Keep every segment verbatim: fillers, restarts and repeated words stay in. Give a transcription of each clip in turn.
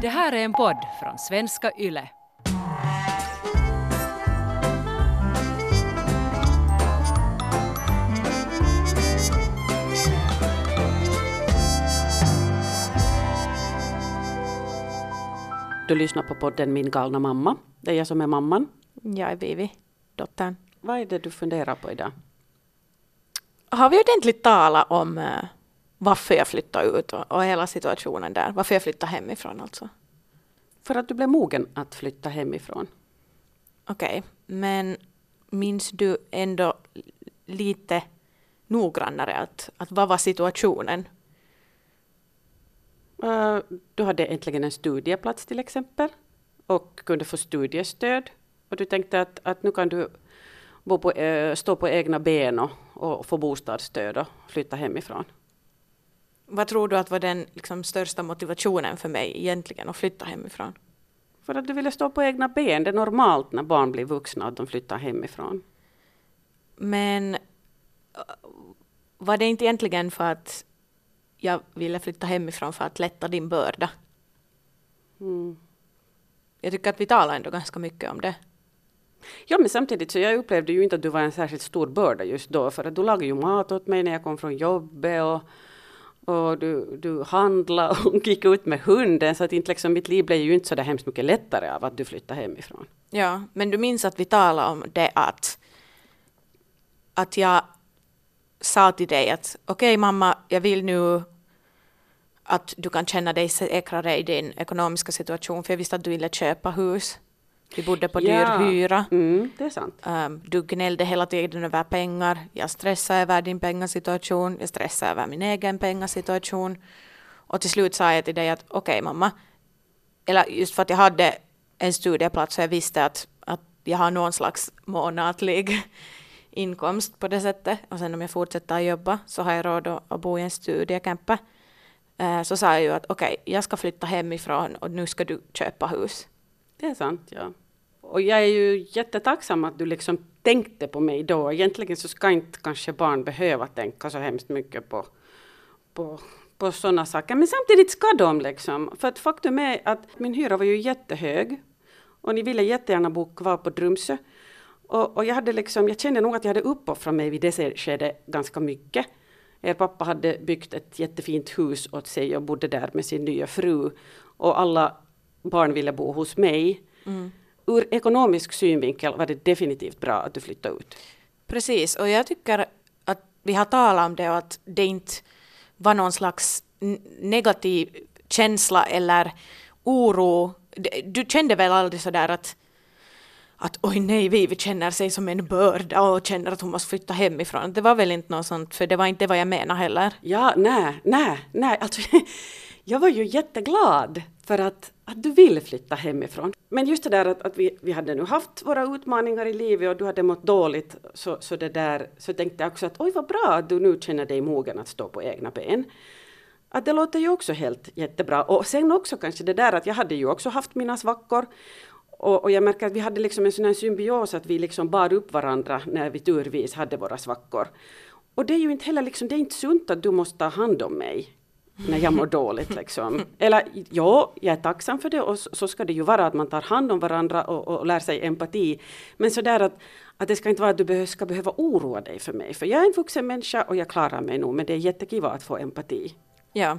Det här är en podd från Svenska Yle. Du lyssnar på podden Min galna mamma. Det är jag som är mamman. Jag är Vivi, dottern. Vad är det du funderar på idag? Har vi ordentligt talat om uh, varför jag flyttade ut och, och hela situationen där? Varför jag flyttade hemifrån alltså? För att du blev mogen att flytta hemifrån. Okej, okay. Men minns du ändå lite noggrannare att, att vad var situationen? Uh, du hade äntligen en studieplats till exempel och kunde få studiestöd. Och du tänkte att, att nu kan du bo på, uh, stå på egna ben och, och få bostadsstöd och flytta hemifrån. Vad tror du att var den liksom, största motivationen för mig egentligen att flytta hemifrån? För att du ville stå på egna ben. Det är normalt när barn blir vuxna att de flyttar hemifrån. Men var det inte egentligen för att jag ville flytta hemifrån för att lätta din börda? Mm. Jag tycker att vi talar ändå ganska mycket om det. Ja, men samtidigt så jag upplevde ju inte att du var en särskilt stor börda just då. För att du lagade ju mat åt mig när jag kom från jobbet och, och du, du handlade och gick ut med hunden. Så att inte liksom, mitt liv blev ju inte så där hemskt mycket lättare av att du flyttade hemifrån. Ja, men du minns att vi talade om det att, att jag sa till dig att okej okay, mamma, jag vill nu att du kan känna dig säkrare i din ekonomiska situation. För jag visste att du ville köpa hus. Vi bodde på Ja. dyr hyra. Mm, det är sant. Um, du gnällde hela tiden över pengar. Jag stressade över din pengasituation. Jag stressade över min egen pengasituation. Och till slut sa jag till dig att okej okay, mamma. Eller just för att jag hade en studieplats så jag visste att, att jag har någon slags månatlig inkomst på det sättet. Och sen om jag fortsätter jobba så har jag råd att bo i en studiecamper. Uh, så sa jag ju att okej, okay, jag ska flytta hemifrån och nu ska du köpa hus. Det är sant, ja. Och jag är ju jättetacksam att du liksom tänkte på mig då. Egentligen så ska inte kanske barn behöva tänka så hemskt mycket på, på, på sådana saker. Men samtidigt ska de liksom. För att faktum är att min hyra var ju jättehög. Och ni ville jättegärna bo kvar på Drumsö. Och, och jag, hade liksom, jag kände nog att jag hade uppoffrat mig vid det skedet ganska mycket. Er pappa hade byggt ett jättefint hus åt sig och bodde där med sin nya fru. Och alla barn ville bo hos mig. Mm. Ur ekonomisk synvinkel var det definitivt bra att du flyttade ut. Precis, och jag tycker att vi har talat om det och att det inte var någon slags negativ känsla eller oro. Du kände väl aldrig sådär att att oj nej, vi känner sig som en börda och känner att hon måste flytta hemifrån. Det var väl inte något sånt, för det var inte vad jag menar heller. Ja, nej, nej, nej. Alltså, jag var ju jätteglad för att, att du ville flytta hemifrån. Men just det där att, att vi, vi hade nu haft våra utmaningar i livet och du hade mått dåligt. Så, så, det där, så tänkte jag också att oj vad bra att du nu känner dig mogen att stå på egna ben. Att det låter ju också helt jättebra. Och sen också kanske det där att jag hade ju också haft mina svackor. Och, och jag märker att vi hade liksom en sån här symbios att vi liksom bar upp varandra när vi turvis hade våra svackor. Och det är ju inte heller liksom, det är inte sunt att du måste ta hand om mig när jag mår dåligt liksom. Eller ja, jag är tacksam för det och så, så ska det ju vara att man tar hand om varandra och, och lär sig empati. Men så där att, att det ska inte vara att du be- ska behöva oroa dig för mig. För jag är en vuxen människa och jag klarar mig nog, men det är jättekiva att få empati. Ja.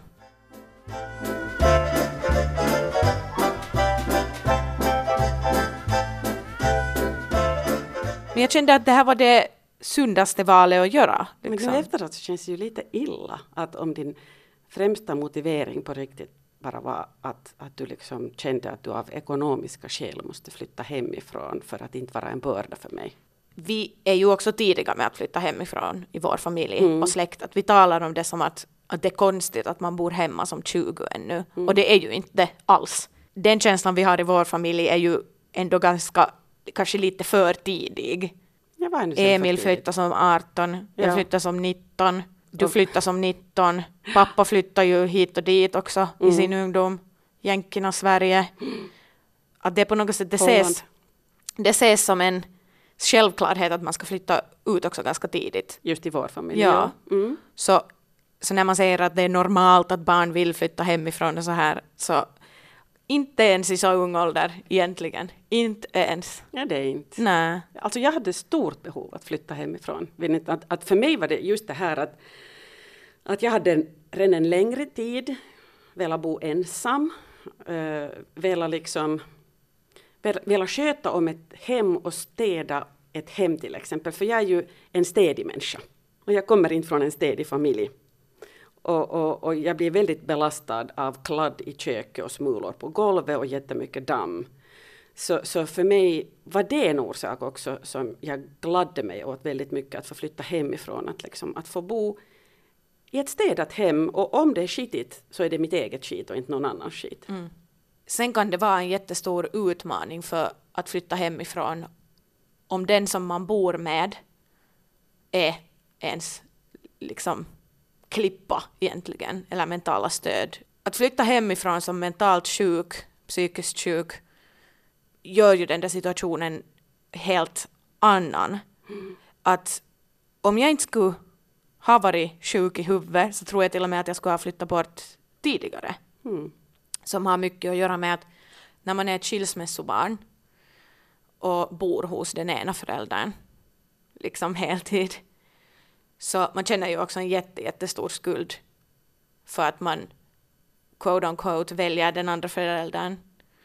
Men jag kände att det här var det sundaste valet att göra. Liksom. Men då efteråt så känns det ju lite illa att om din främsta motivering på riktigt bara var att, att du liksom kände att du av ekonomiska skäl måste flytta hemifrån för att inte vara en börda för mig. Vi är ju också tidiga med att flytta hemifrån i vår familj mm. och släkt. Att vi talar om det som att, att det är konstigt att man bor hemma som tjugo ännu. Mm. Och det är ju inte det alls. Den känslan vi har i vår familj är ju ändå ganska, kanske lite för tidig. Emil flyttade som arton, jag ja. flyttade som nitton, du flyttade som nitton, pappa flyttade ju hit och dit också mm. i sin ungdom, Jänkerna, Sverige. Att det på något sätt, det ses, det ses som en självklarhet att man ska flytta ut också ganska tidigt. Just i vår familj. Ja. ja. Mm. Så, så när man säger att det är normalt att barn vill flytta hemifrån och så här, så inte ens i så ung ålder egentligen. Inte ens. Ja, det är inte. Nej. Alltså jag hade stort behov att flytta hemifrån. Att, att för mig var det just det här att, att jag hade redan en längre tid velat bo ensam. Uh, velat liksom velat sköta om ett hem och städa ett hem till exempel. För jag är ju en städig människa. Och jag kommer inte från en städig familj. Och, och, och jag blir väldigt belastad av kladd i köket och smulor på golvet och jättemycket damm. Så, så för mig var det en orsak också som jag gladde mig åt väldigt mycket att få flytta hemifrån. Att, liksom, att få bo i ett städat hem, och om det är skitigt så är det mitt eget skit och inte någon annans skit. Mm. Sen kan det vara en jättestor utmaning för att flytta hemifrån om den som man bor med är ens liksom klippa egentligen, eller mentala stöd. Att flytta hemifrån som mentalt sjuk, psykiskt sjuk, gör ju den där situationen helt annan. Mm. Att om jag inte skulle ha varit sjuk i huvudet så tror jag till och med att jag skulle ha flyttat bort tidigare. Mm. Som har mycket att göra med att när man är ett skilsmässobarn och bor hos den ena föräldern liksom heltid, så man känner ju också en jätte, jättestor skuld för att man quote on quote väljer den andra föräldern.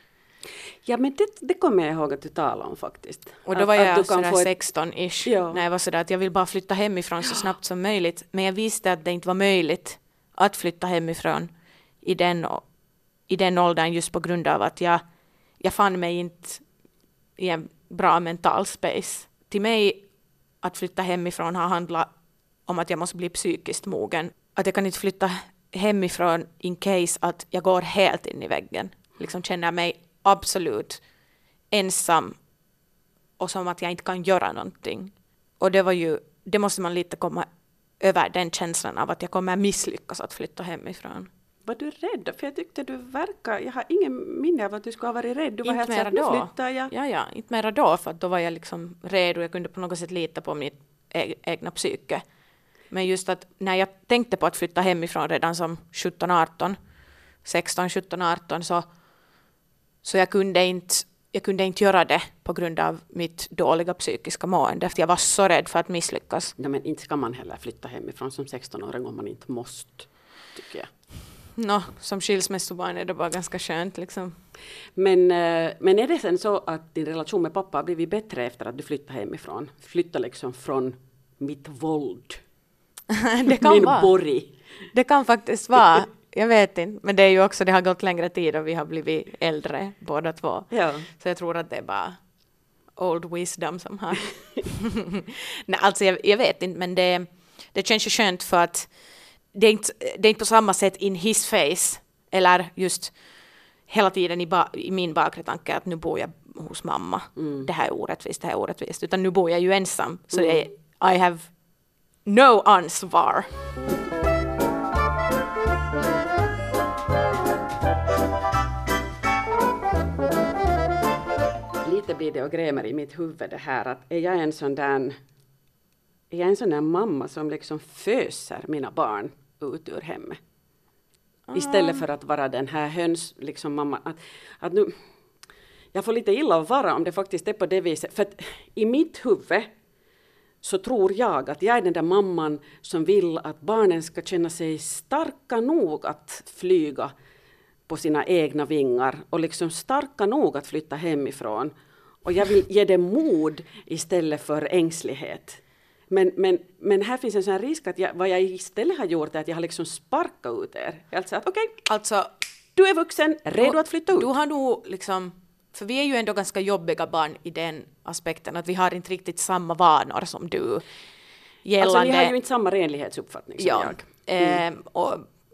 Ja, men det, det kommer jag ihåg att du talade om faktiskt. Och då var att, jag att sådär få ett... sexton-ish ja. när jag var sådär att jag vill bara flytta hemifrån så snabbt som möjligt. Men jag visste att det inte var möjligt att flytta hemifrån i den, i den åldern just på grund av att jag, jag fann mig inte i en bra mental space. Till mig att flytta hemifrån har handlat om att jag måste bli psykiskt mogen. Att jag kan inte flytta hemifrån in case att jag går helt in i väggen. Liksom känner mig absolut ensam och som att jag inte kan göra någonting. Och det var ju, det måste man lite komma över den känslan av att jag kommer misslyckas att flytta hemifrån. Var du rädd? För jag tyckte du verkar, jag har ingen minne av att du skulle ha varit rädd. Du var inte helt så att nu flyttar jag. Ja, ja, inte mera då, för att då var jag liksom redo. Jag kunde på något sätt lita på mitt e- egna psyke. Men just att när jag tänkte på att flytta hemifrån redan som sjutton arton, sexton, sjutton, arton så, så jag, kunde inte, jag kunde inte göra det på grund av mitt dåliga psykiska mående. För jag var så rädd för att misslyckas. Ja, men inte ska man heller flytta hemifrån som sexton-åring om man inte måste, tycker jag. No, som skilsmässobarn är det bara ganska skönt liksom. Men, men är det sen så att din relation med pappa har blivit bättre efter att du flyttade hemifrån? Flytta liksom från mitt våld. Det kan Min vara. borg. Det kan faktiskt vara. Jag vet inte. Men det är ju också, det har gått längre tid och vi har blivit äldre båda två. Ja. Så jag tror att det är bara old wisdom som har. Nej, alltså jag, jag vet inte, men det, det känns ju skönt för att det är, inte, det är inte på samma sätt in his face eller just hela tiden i, ba, i min bakre tanke att nu bor jag hos mamma. Mm. Det här är orättvist, det här är orättvist. Utan nu bor jag ju ensam. Så mm. det är, I have no ansvar. Lite blir det och grämer i mitt huvud det här att är jag en sån där är jag en sån där mamma som liksom föser mina barn ut ur hemmet. Ah. Istället för att vara den här höns liksom mamma att, att nu jag får lite illa att vara om det faktiskt är på det viset för att i mitt huvud så tror jag att jag är den där mamman som vill att barnen ska känna sig starka nog att flyga på sina egna vingar och liksom starka nog att flytta hemifrån. Och jag vill ge dem mod istället för ängslighet. Men, men, men här finns en sån här risk att jag, vad jag istället har gjort är att jag har liksom sparkat ut er. Jag har sagt okej, okay, alltså, du är vuxen, redo du, att flytta ut. Du har nog liksom, för vi är ju ändå ganska jobbiga barn i den aspekten att vi har inte riktigt samma vanor som du. Gällande, alltså ni har ju inte samma renlighetsuppfattning som ja, jag. Mm. Eh, och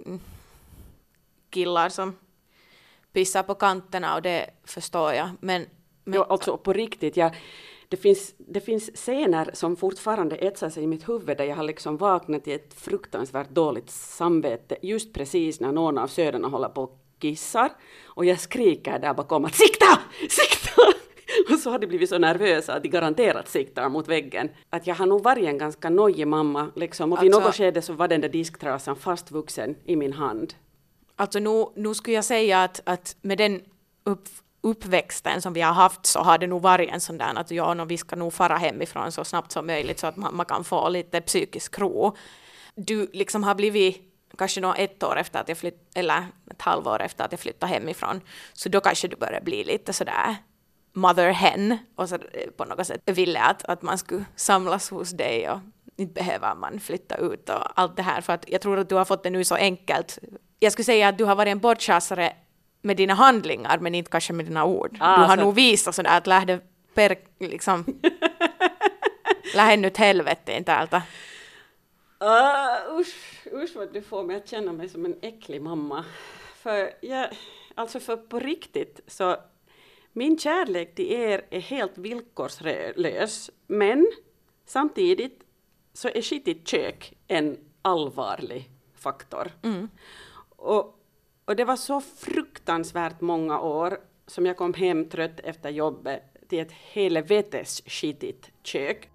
killar som pissar på kanterna och det förstår jag. Men, men jo, alltså på riktigt, jag, det, finns, det finns scener som fortfarande etsar sig i mitt huvud där jag har liksom vaknat i ett fruktansvärt dåligt samvete just precis när någon av söderna håller på och kissar och jag skriker där bakom att sikta! Sikta! Och så har de blivit så nervösa att de garanterat siktar mot väggen. Att jag har nog varit en ganska nojig mamma liksom, och vid alltså, något skede så var den där disktrasan fastvuxen i min hand. Alltså nu, nu skulle jag säga att, att med den upp, uppväxten som vi har haft så har det nog varit en sån där att ja, no, vi ska nog fara hemifrån så snabbt som möjligt så att man, man kan få lite psykisk ro. Du liksom har blivit kanske nå ett år efter att jag flytt, eller ett halvår efter att jag flyttade hemifrån, så då kanske du börjar bli lite sådär mother hen och så på något sätt ville att, att man skulle samlas hos dig och inte behöver man flytta ut och allt det här, för att jag tror att du har fått det nu så enkelt. Jag skulle säga att du har varit en bortchassare med dina handlingar men inte kanske med dina ord. Ah, du har så... nog visat sådär att lähde per liksom lähde nyt helvete inte allt. Uh, usch, usch vad du får mig att känna mig som en äcklig mamma. För jag, alltså för på riktigt så min kärlek till er är helt villkorslös, men samtidigt så är skitigt kök en allvarlig faktor. Mm. Och, och det var så fruktansvärt många år som jag kom hem trött efter jobbet till ett helvetes skitigt kök.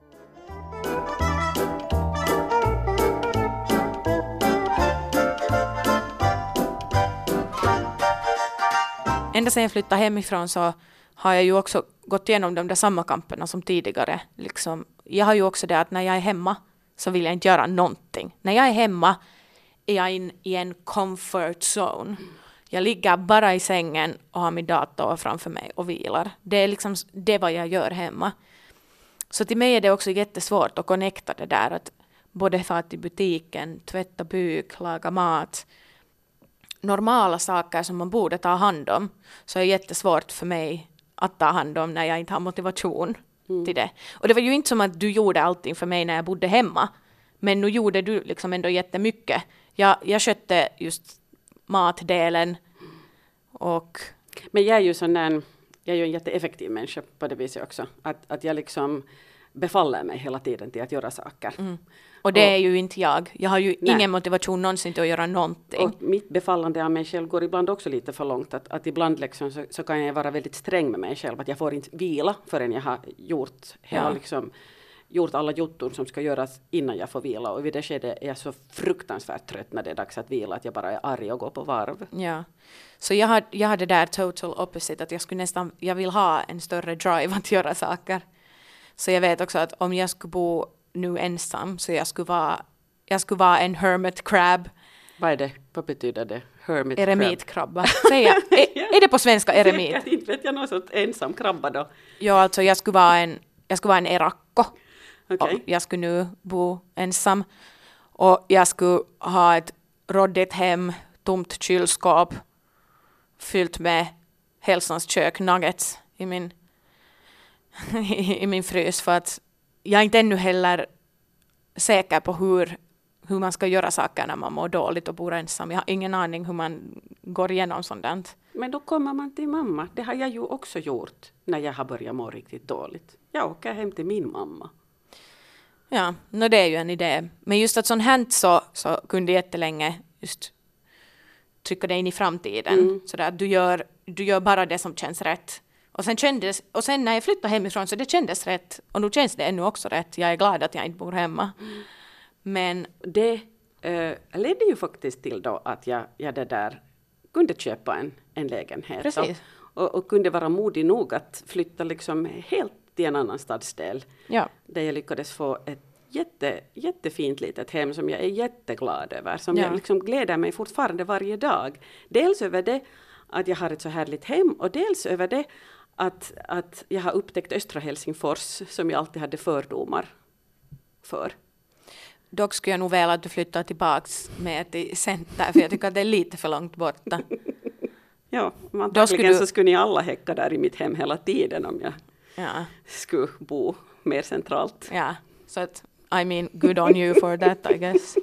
Ända sedan jag flyttade hemifrån så har jag ju också gått igenom de där samma kamperna som tidigare. Liksom, jag har ju också det att när jag är hemma så vill jag inte göra någonting. När jag är hemma är jag in i en comfort zone. Jag ligger bara i sängen och har min dator framför mig och vilar. Det är liksom det vad jag gör hemma. Så till mig är det också jättesvårt att connecta det där. Att både för att i butiken, tvätta byk, laga mat. Normala saker som man borde ta hand om, så är det jättesvårt för mig att ta hand om när jag inte har motivation mm. till det. Och det var ju inte som att du gjorde allting för mig när jag bodde hemma, men nu gjorde du liksom ändå jättemycket. Jag, jag skötte just matdelen och... Men jag är ju sån där, jag är ju en jätteeffektiv människa på det viset också. Att, att jag liksom befaller mig hela tiden till att göra saker. Mm. Och det och, är ju inte jag. Jag har ju nej. ingen motivation någonsin till att göra någonting. Och mitt befallande av mig själv går ibland också lite för långt. Att, att ibland liksom så, så kan jag vara väldigt sträng med mig själv. Att jag får inte vila förrän jag har gjort, hela, ja. liksom, gjort alla jotton som ska göras innan jag får vila. Och vid det skedet är jag så fruktansvärt trött när det är dags att vila. Att jag bara är arg och går på varv. Ja. Så jag har, jag har det där total opposite. Att jag skulle nästan, jag vill ha en större drive att göra saker. Så jag vet också att om jag skulle bo nu ensam så jag skulle vara, jag skulle vara en hermit crab. Vad är det? Vad betyder det? Hermit Eremitkrabba. Säger, är, är det på svenska eremit? Säkert, inte vet jag någon sorts ensam krabba då. Ja, alltså jag skulle vara en, jag skulle vara en erakko. Okay. Jag skulle nu bo ensam. Och jag skulle ha ett råddigt hem, tomt kylskåp, fyllt med hälsans kök, nuggets i min i min frys, för att jag är inte ännu heller säker på hur, hur man ska göra saker när man mår dåligt och bor ensam. Jag har ingen aning hur man går igenom sådant. Men då kommer man till mamma. Det har jag ju också gjort när jag har börjat må riktigt dåligt. Jag åker hem till min mamma. Ja, no, det är ju en idé. Men just att sånt hänt så, så kunde jag jättelänge just trycka dig in i framtiden. Mm. Så att du gör, du gör bara det som känns rätt. Och sen, kändes, och sen när jag flyttade hemifrån så det kändes rätt. Och nu känns det ännu också rätt. Jag är glad att jag inte bor hemma. Mm. Men det äh, ledde ju faktiskt till då att jag, jag det där kunde köpa en, en lägenhet. Precis. Och, och, och kunde vara modig nog att flytta liksom helt till en annan stadsdel. Ja. Där jag lyckades få ett jätte, jättefint litet hem som jag är jätteglad över. Som ja. jag liksom gläder mig fortfarande varje dag. Dels över det att jag har ett så härligt hem och dels över det Att, att jag har upptäckt östra Helsingfors som jag alltid hade fördomar för. Dock skulle jag nog vilja att du flyttar tillbaks med till center, för jag tycker att det är lite för långt borta. Ja, antagligen skulle du... så skulle ni alla häcka där i mitt hem hela tiden om jag ja. skulle bo mer centralt. Ja, så att I mean good on you for that I guess.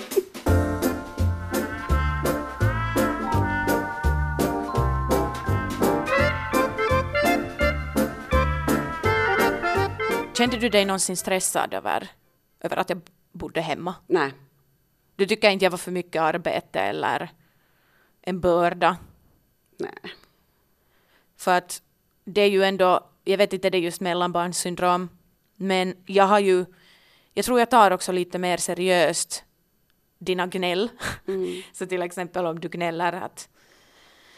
Kände du dig någonsin stressad över, över att jag bodde hemma? Nej. Du tycker inte jag var för mycket arbete eller en börda? Nej. För att det är ju ändå, jag vet inte det är just mellanbarnssyndrom, men jag har ju, jag tror jag tar också lite mer seriöst dina gnäll. Mm. Så till exempel om du gnäller att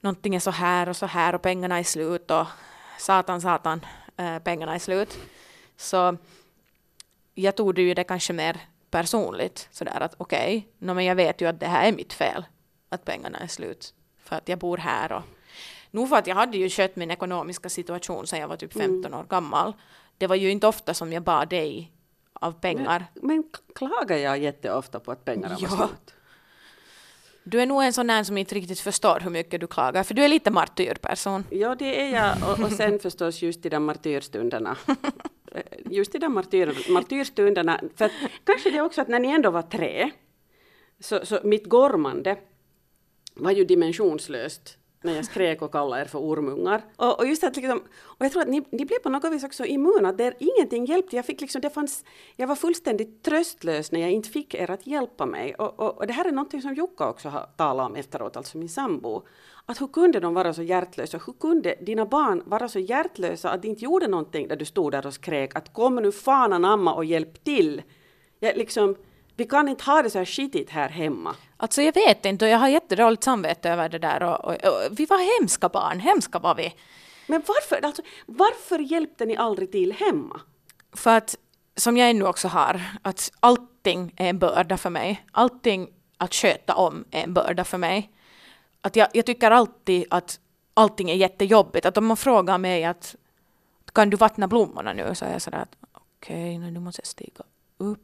någonting är så här och så här och pengarna är slut och satan, satan, äh, pengarna är slut. Så jag tog det ju det kanske mer personligt. Sådär att okej, okay, no, men jag vet ju att det här är mitt fel. Att pengarna är slut. För att jag bor här. Och, nog för att jag hade ju skött min ekonomiska situation sedan jag var typ femton år gammal. Det var ju inte ofta som jag bad dig av pengar. Men, men klagar jag jätteofta på att pengarna ja. var slut? Du är nog en sån här som inte riktigt förstår hur mycket du klagar. För du är lite martyrperson. Ja, det är jag. Och, och sen förstås just i de martyrstunderna. Just i de martyr, martyrstunderna. För att, kanske det också att när ni ändå var tre. Så, så mitt gormande var ju dimensionslöst. När jag skrek och kallade er för ormungar. Och, och just att liksom, och jag tror att ni, ni blev på något vis också immuna. Där ingenting hjälpte. Jag fick liksom, det fanns, jag var fullständigt tröstlös när jag inte fick er att hjälpa mig. Och, och, och det här är något som Jukka också har talat om efteråt, alltså min sambo. Att hur kunde de vara så hjärtlösa? Hur kunde dina barn vara så hjärtlösa att de inte gjorde någonting där du stod där och skrek att kom nu fan anamma och hjälp till. Jag, liksom, vi kan inte ha det så här skitigt här hemma. Alltså jag vet inte och jag har jättedåligt samvete över det där. Och, och, och, vi var hemska barn, hemska var vi. Men varför, alltså, varför hjälpte ni aldrig till hemma? För att, som jag ännu också har, att allting är en börda för mig. Allting att sköta om är en börda för mig. Att jag, jag tycker alltid att allting är jättejobbigt. Att om man frågar mig att kan du vattna blommorna nu? Så är jag sådär att okej, okay, nu måste jag stiga upp.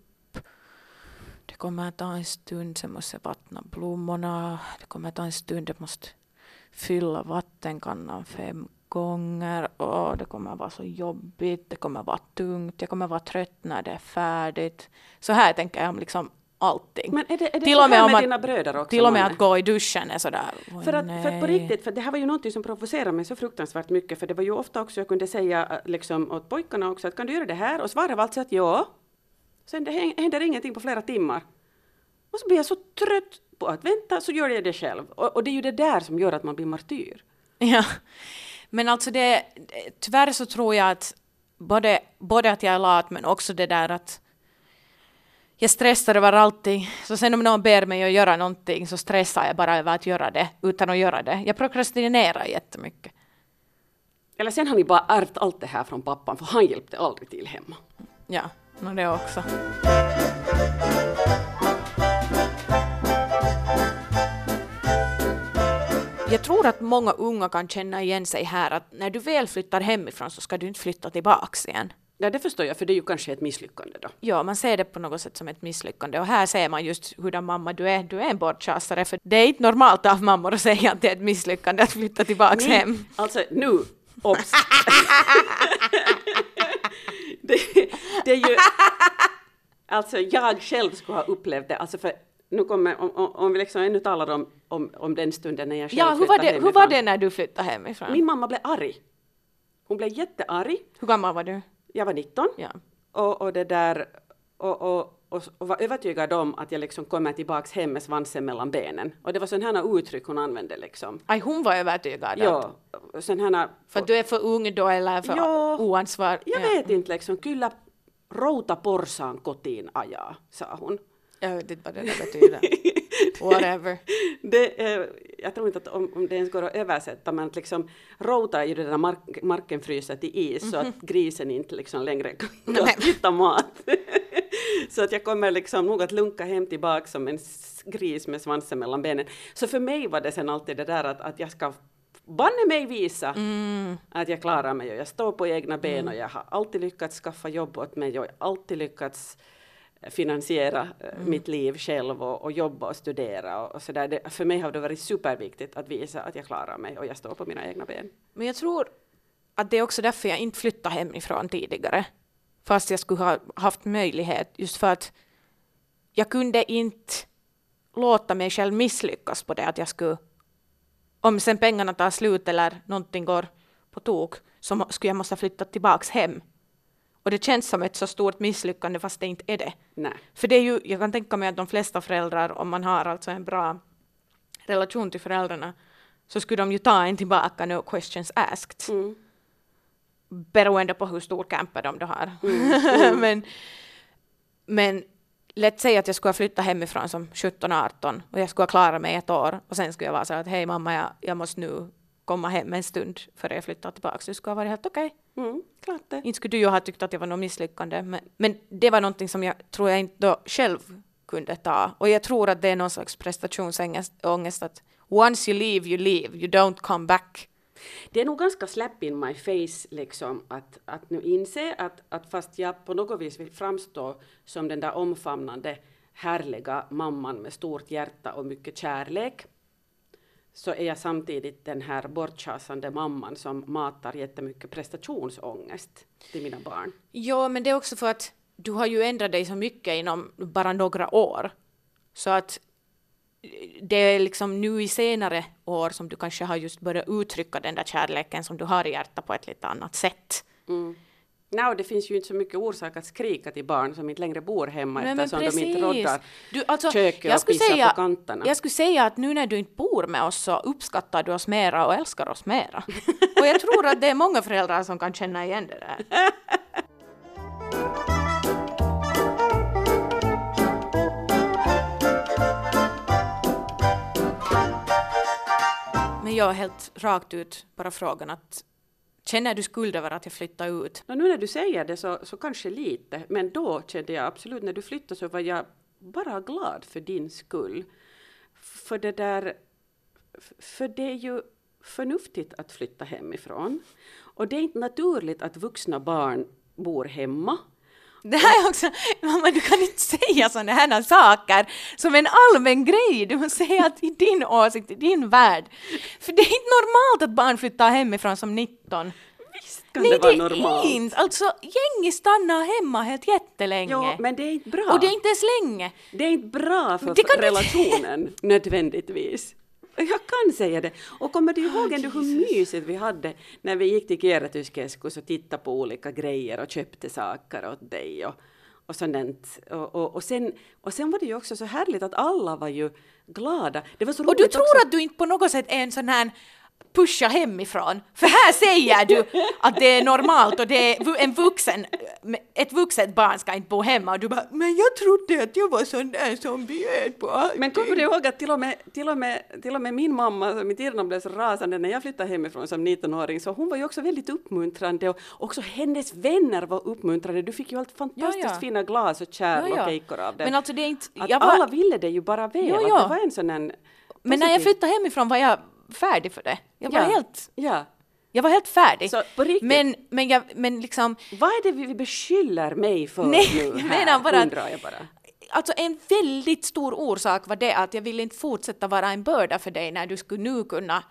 Det kommer att ta en stund, sen måste jag vattna blommorna. Det kommer att ta en stund, jag måste fylla vattenkannan fem gånger. Och det kommer att vara så jobbigt, det kommer att vara tungt. Jag kommer att vara trött när det är färdigt. Så här tänker jag om liksom allting. Men är det, är det till så och med här om med att, dina bröder också? Till och med Manne? att gå i duschen är sådär. För att, för att på riktigt, för det här var ju något som provocerar mig så fruktansvärt mycket. För det var ju ofta också, jag kunde säga liksom, åt pojkarna också att kan du göra det här? Och svaret var alltså att ja. Sen det händer ingenting på flera timmar. Och så blir jag så trött på att vänta så gör jag det själv. Och, och det är ju det där som gör att man blir martyr. Ja, men alltså det, tyvärr så tror jag att både, både att jag är lat men också det där att jag stressar över allting. Så sen om någon ber mig att göra någonting så stressar jag bara över att göra det utan att göra det. Jag prokrastinerar jättemycket. Eller sen har ni bara ärvt allt det här från pappan för han hjälpte aldrig till hemma. Ja, och det också. Jag tror att många unga kan känna igen sig här att när du väl flyttar hemifrån så ska du inte flytta tillbaks igen. Ja, det förstår jag, för det är ju kanske ett misslyckande då. Ja, man ser det på något sätt som ett misslyckande. Och här ser man just hurdan mamma du är. Du är en bortchasare, för det är inte normalt av mammor att säga att det är ett misslyckande att flytta tillbaks Nej, hem. alltså nu, obs. det, det är ju... Alltså jag själv skulle ha upplevt det, alltså för nu kommer, om, om, om vi liksom ännu talar om, om, om den stunden när jag själv ja, hur flyttade var det, hemifrån. hur var det när du flyttade hemifrån? Min mamma blev arg. Hon blev jättearg. Hur gammal var du? Jag var nitton. Ja. Och, och det där, och, och, och, och var övertygad om att jag liksom kommer tillbaks hem med svansen mellan benen. Och det var sådana här uttryck hon använde liksom. Aj, hon var övertygad. Ja, sån här... För att du är för ung då eller för ja, oansvar? Jag ja. vet inte liksom, kyllä routa porsaan kotiin ajaa, sa hon. Jag vet inte vad det där betyder. Whatever. Det, eh, jag tror inte att om, om det ens går att översätta, men att liksom routa är ju det där mark, marken fryser till is, mm-hmm. så att grisen inte liksom längre kan hitta mat. Så att jag kommer liksom nog att lunka hem tillbaka som en gris med svansen mellan benen. Så för mig var det sen alltid det där att, att jag ska banne mig visa mm. att jag klarar mig och jag står på egna ben mm. och jag har alltid lyckats skaffa jobb åt mig och jag har alltid lyckats finansiera mm. mitt liv själv och, och jobba och studera och, och så där. Det, för mig har det varit superviktigt att visa att jag klarar mig och jag står på mina egna ben. Men jag tror att det är också därför jag inte flyttade hemifrån tidigare. Fast jag skulle ha haft möjlighet, just för att jag kunde inte låta mig själv misslyckas på det att jag skulle, om sen pengarna tar slut eller någonting går på tok, så skulle jag måste flytta tillbaks hem. Och det känns som ett så stort misslyckande fast det inte är det. Nej. För det är ju, jag kan tänka mig att de flesta föräldrar, om man har alltså en bra relation till föräldrarna, så skulle de ju ta en tillbaka, no questions asked. Mm. Beroende på hur stor camper de då har. Mm. Mm. men, men lätt säga att jag skulle ha flyttat hemifrån som sjutton arton och jag skulle ha klarat mig ett år och sen skulle jag vara så att hej mamma, jag, jag måste nu komma hem en stund före jag flyttar tillbaka. Så det skulle ha varit helt okej. Okay. Mm, klart det. Inte skulle du ju ha tyckt att det var något misslyckande. Men, men det var någonting som jag tror jag inte då själv kunde ta. Och jag tror att det är någon slags prestationsångest att once you leave, you leave. You don't come back. Det är nog ganska slap in my face liksom, att, att nu inse att, att fast jag på något vis vill framstå som den där omfamnande, härliga mamman med stort hjärta och mycket kärlek, så är jag samtidigt den här bortchasande mamman som matar jättemycket prestationsångest till mina barn. Ja, men det är också för att du har ju ändrat dig så mycket inom bara några år. Så att det är liksom nu i senare år som du kanske har just börjat uttrycka den där kärleken som du har i hjärtat på ett lite annat sätt. Mm. No, det finns ju inte så mycket orsak att skrika till barn som inte längre bor hemma. Nej, eftersom men de inte roddar du, alltså, köket och pissar säga, på kanterna. Jag skulle säga att nu när du inte bor med oss så uppskattar du oss mera och älskar oss mera. Och jag tror att det är många föräldrar som kan känna igen det där. Men jag är helt rakt ut bara frågan att känner du skuld över att jag flyttade ut? Och nu när du säger det så, så kanske lite, men då kände jag absolut, när du flyttade så var jag bara glad för din skull. För det där, för det är ju förnuftigt att flytta hemifrån. Och det är inte naturligt att vuxna barn bor hemma. Det här är också, mamma, du kan inte säga sådana här saker som en allmän grej. Du måste säga att i din åsikt, i din värld. För det är inte normalt att barn flyttar hemifrån som nitton. Visst kan Nej, det vara normalt. Nej, inte. Alltså, gäng stannar hemma helt jättelänge. Jo, men det är inte bra. Och det är inte ens länge. Det är inte bra för relationen inte... nödvändigtvis. Jag kan säga det. Och kommer du ihåg oh, ändå hur mysigt vi hade när vi gick till Kierrätyskeskus och tittade på olika grejer och köpte saker åt dig och, och sådant. Och, och, och, sen, och sen var det ju också så härligt att alla var ju glada. Det var så och du tror också. Att du inte på något sätt är en sån här pusha hemifrån. För här säger du att det är normalt och det är en vuxen, ett vuxet barn ska inte bo hemma och du bara, men jag trodde att jag var sån där som bjöd på allting. Men kommer du ihåg att till och med, till och med, till och med min mamma, min Tirna, blev så rasande när jag flyttade hemifrån som nittonåring, så hon var ju också väldigt uppmuntrande och också hennes vänner var uppmuntrande. Du fick ju allt fantastiskt ja, ja. fina glas och kärl ja, ja. och kejkor av det. Men alltså det är inte, att jag var... alla ville det ju bara väl. Ja, ja. Det var en sån en men när jag flyttade hemifrån var jag färdig för det. Jag var ja. helt ja. Jag var helt färdig. Så, på riktigt. Men men jag men liksom vad är det vi beskyller mig för nej, nu jag här? menar bara, undrar jag bara. Alltså en väldigt stor orsak var det att jag ville inte fortsätta vara en börda för dig när du skulle nu kunna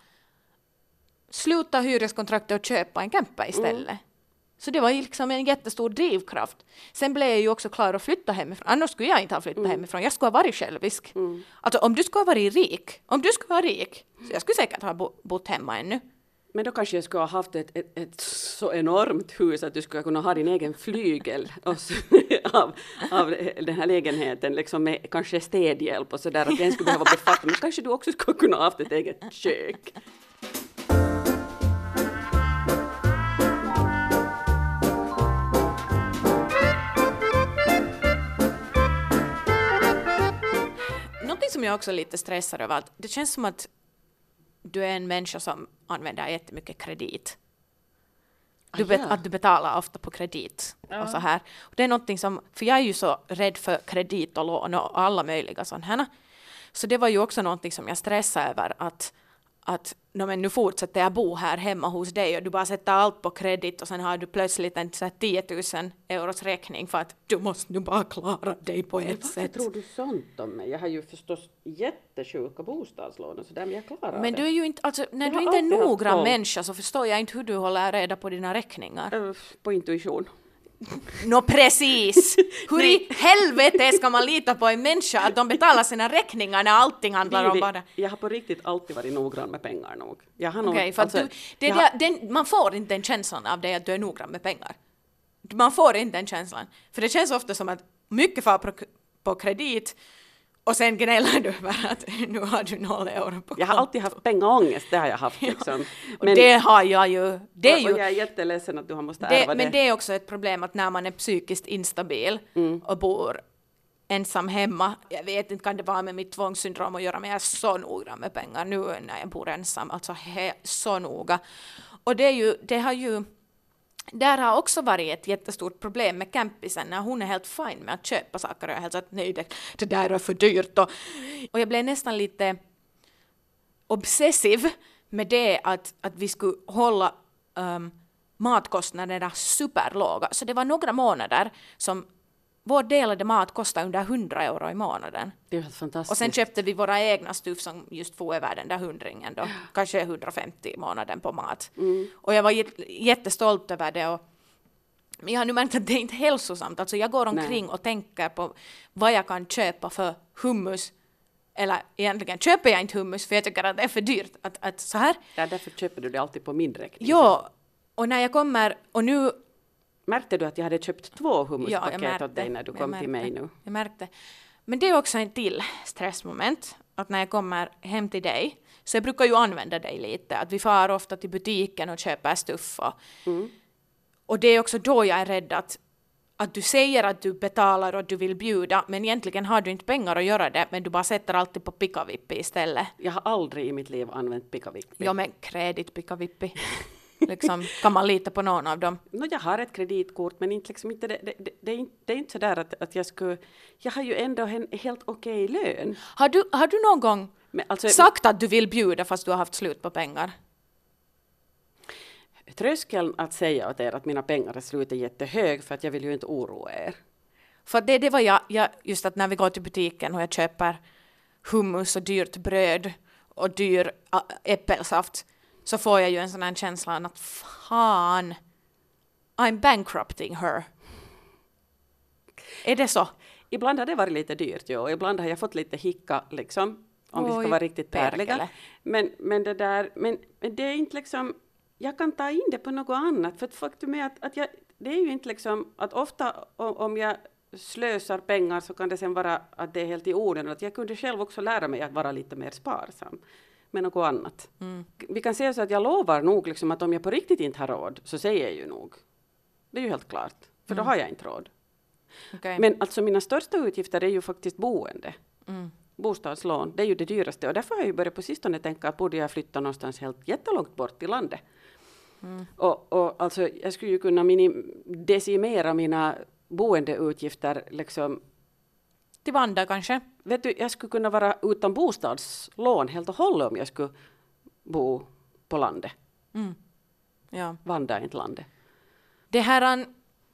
sluta hyreskontraktet och köpa en camper istället. Mm. Så det var liksom en jättestor drivkraft. Sen blev jag ju också klar att flytta hemifrån. Annars skulle jag inte ha flyttat mm. hemifrån. Jag skulle ha varit självisk. Mm. Alltså om du skulle ha varit rik. Om du skulle vara rik. Så jag skulle säkert ha bo- bott hemma ännu. Men då kanske jag skulle ha haft ett, ett, ett så enormt hus att du skulle kunna ha din egen flygel av, av den här lägenheten. Liksom med kanske städhjälp och sådär. Att den skulle behöva befatta. Men kanske du också skulle kunna ha haft ett eget kök. Som jag också är lite stressad över att det känns som att du är en människa som använder jättemycket kredit. Du bet- att du betalar ofta på kredit ja. och så här. Och det är någonting som, för jag är ju så rädd för kredit och lån och alla möjliga sådana här. Så det var ju också någonting som jag stressade över att att no, men nu fortsätter jag bo här hemma hos dig och du bara sätter allt på kredit och sen har du plötsligt en så här, tio tusen euros räkning för att du måste nu bara klara dig på ett men sätt. Varför tror du sånt om mig? Jag har ju förstås jättesjuka bostadslån och så där, men jag klarar men det. du är ju inte, alltså, när jag du inte är noggrann människa så förstår jag inte hur du håller reda på dina räkningar. Uh, på intuition. Nå no, precis! Hur i helvete ska man lita på en människa att de betalar sina räkningar när allting handlar om bara... Jag har på riktigt alltid varit noggrann med pengar nog. Jag har nog... Okay, för alltså, du, det jag där, har... den, man får inte den känslan av dig att du är noggrann med pengar. Man får inte den känslan. För det känns ofta som att mycket får på, på kredit och sen gnäller du över att nu har du noll euro på Jag har alltid haft pengaångest, det har jag haft liksom. Ja, och men, det har jag ju. Det är ju och jag är jätteledsen att du har måste det, ärva det. Men det är också ett problem att när man är psykiskt instabil mm. och bor ensam hemma. Jag vet inte, kan det vara med mitt tvångssyndrom att göra, men jag är så noga med pengar nu när jag bor ensam. Alltså he, så noga. Och det, är ju, det har ju, där har också varit ett jättestort problem med campisen när hon är helt fin med att köpa saker och jag är helt så att nej, det, det där är för dyrt. Och, och jag blev nästan lite obsessiv med det att, att vi skulle hålla um, matkostnaderna superlåga. Så det var några månader som vår delade mat kostade under hundra euro i månaden. Det är helt fantastiskt. Och sen köpte vi våra egna stuff som just får över den där hundringen då. Kanske hundrafemtio i månaden på mat. Mm. Och jag var jättestolt över det. Och men jag har nu märkt att det är inte hälsosamt. Alltså jag går omkring Nej. och tänker på vad jag kan köpa för hummus. Eller egentligen köper jag inte hummus för jag tycker att det är för dyrt. Att, att så här. Ja, därför köper du det alltid på min räkning. Ja, och när jag kommer och nu... Märkte du att jag hade köpt två hummuspaket ja, åt dig när du kom märkte, till mig nu? Jag märkte. Men det är också en till stressmoment. Att när jag kommer hem till dig. Så jag brukar ju använda dig lite. Att vi far ofta till butiken och köper stuff. Och, mm. och det är också då jag är rädd att, att du säger att du betalar och att du vill bjuda. Men egentligen har du inte pengar att göra det. Men du bara sätter alltid på pikavippi istället. Jag har aldrig i mitt liv använt pikavippi. Ja, men kredit pikavippi. Liksom, kan man lita på någon av dem? No, jag har ett kreditkort, men inte, liksom, inte, det, det, det, det, är inte, det är inte så där att, att jag skulle... Jag har ju ändå en helt okej lön. Har du, har du någon gång men, alltså, sagt att du vill bjuda fast du har haft slut på pengar? Tröskeln att säga åt er att mina pengar är slut är jättehög för att jag vill ju inte oroa er. För det, det var jag, jag, just att när vi går till butiken och jag köper hummus och dyrt bröd och dyr ä, äppelsaft så får jag ju en sån här känsla att fan, I'm bankrupting her. Är det så? Ibland har det varit lite dyrt, ja. Ibland har jag fått lite hicka, liksom, om Oj, vi ska vara riktigt ärliga. Men, men det där, men, men det är inte liksom, jag kan ta in det på något annat. För att faktum är att, att jag, det är ju inte liksom, att ofta om jag slösar pengar så kan det sen vara att det är helt i orden. Att jag kunde själv också lära mig att vara lite mer sparsam med något annat. Mm. Vi kan säga så att jag lovar nog liksom att om jag på riktigt inte har råd så säger jag ju nog. Det är ju helt klart. För mm. då har jag inte råd. Okay. Men alltså mina största utgifter är ju faktiskt boende. Mm. Bostadslån, det är ju det dyraste. Och därför har jag ju börjat på sistone tänka att borde jag flytta någonstans helt jättelångt bort i landet. Mm. Och, och alltså jag skulle ju kunna minim- decimera mina boendeutgifter liksom. Till Vanda kanske? Vet du, jag skulle kunna vara utan bostadslån helt och hållet om jag skulle bo på landet. Mm. Ja. Vanda är inte landet. Det här,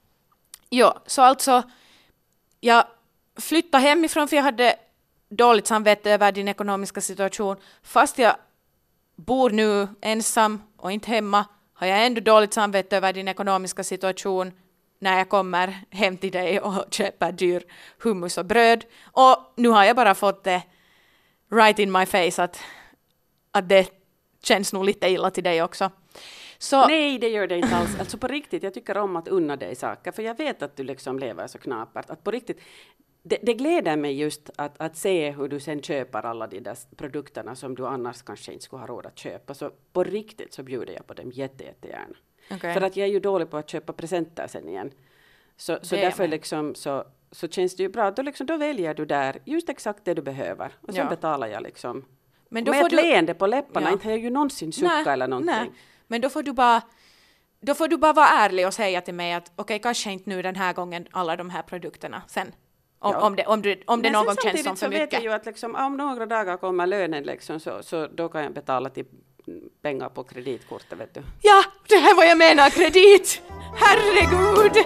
ja, så alltså jag flyttade hemifrån för jag hade dåligt samvete över din ekonomiska situation. Fast jag bor nu ensam och inte hemma har jag ändå dåligt samvete över din ekonomiska situation när jag kommer hem till dig och köper dyr hummus och bröd. Och nu har jag bara fått det right in my face att, att det känns nog lite illa till dig också. Så, nej, det gör det inte alls. Alltså på riktigt, jag tycker om att unna dig saker. För jag vet att du liksom lever så knapert. Att på riktigt, det, det gläder mig just att, att se hur du sen köper alla de där produkterna som du annars kanske inte skulle ha råd att köpa. Så på riktigt så bjuder jag på dem jätte, jättegärna. Okay. För att jag är ju dålig på att köpa presenter sen igen. Så, så därför liksom så, så känns det ju bra. Då, liksom, då väljer du där just exakt det du behöver. Och sen ja. betalar jag liksom. Men då med får ett du... leende på läpparna. Ja. Inte har jag ju någonsin sucka eller någonting. Nej. Men då får du bara då får du bara vara ärlig och säga till mig att okej, okay, kanske inte nu den här gången alla de här produkterna sen. Om, ja. om det, om du, om det någon gång känns som för mycket. Men vet jag ju att liksom, om några dagar kommer lönen liksom, så, så då kan jag betala till pengar på kreditkortet, vet du. Ja, det här var jag menar, kredit! Herregud!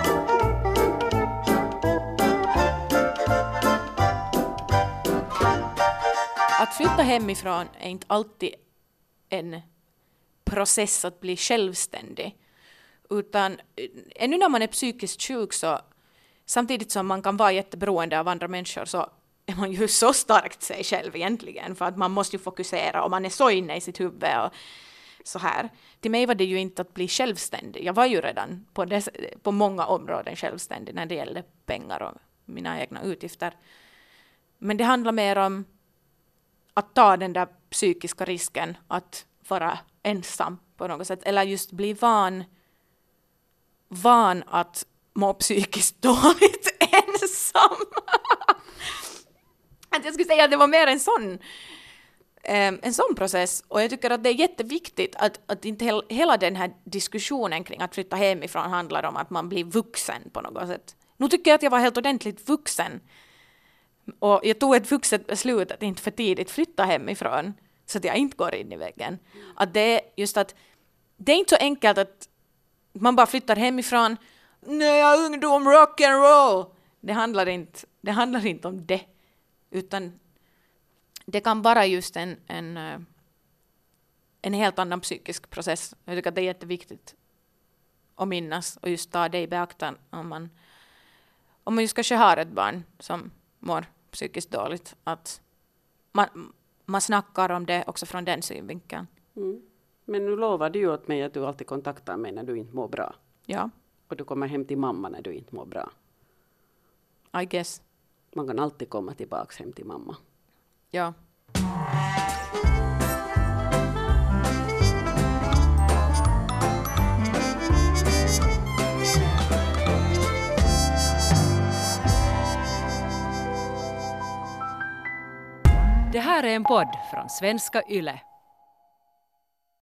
Att flytta hemifrån är inte alltid en process att bli självständig. Utan ännu när man är psykiskt sjuk så samtidigt som man kan vara jätteberoende av andra människor så är man ju så starkt sig själv egentligen. För att man måste ju fokusera och man är så inne i sitt huvud och så här. Till mig var det ju inte att bli självständig. Jag var ju redan på, dess, på många områden självständig när det gällde pengar och mina egna utgifter. Men det handlar mer om att ta den där psykiska risken att vara ensam på något sätt. Eller just bli van, van att må psykiskt dåligt ensam. Att jag skulle säga att det var mer en sån, eh, en sån process. Och jag tycker att det är jätteviktigt att, att inte hel, hela den här diskussionen kring att flytta hemifrån handlar om att man blir vuxen på något sätt. Nu tycker jag att jag var helt ordentligt vuxen. Och jag tog ett vuxet beslut att inte för tidigt flytta hemifrån så att jag inte går in i väggen. Att det är just att det är inte så enkelt att man bara flyttar hemifrån. Nej, jag är ungdom, rock and roll. Det handlar inte, det handlar inte om det. Utan det kan vara just en, en, en helt annan psykisk process. Jag tycker att det är jätteviktigt att minnas och just ta det i beaktan om man, om man just kanske har ett barn som mår psykiskt dåligt. Att man, man snackar om det också från den synvinkeln. Mm. Men nu lovar du ju åt mig att du alltid kontaktar mig när du inte mår bra. Ja. Och du kommer hem till mamma när du inte mår bra. I guess. Man kan alltid komma tillbaka hem till mamma. Ja. Det här är en podd från Svenska Yle.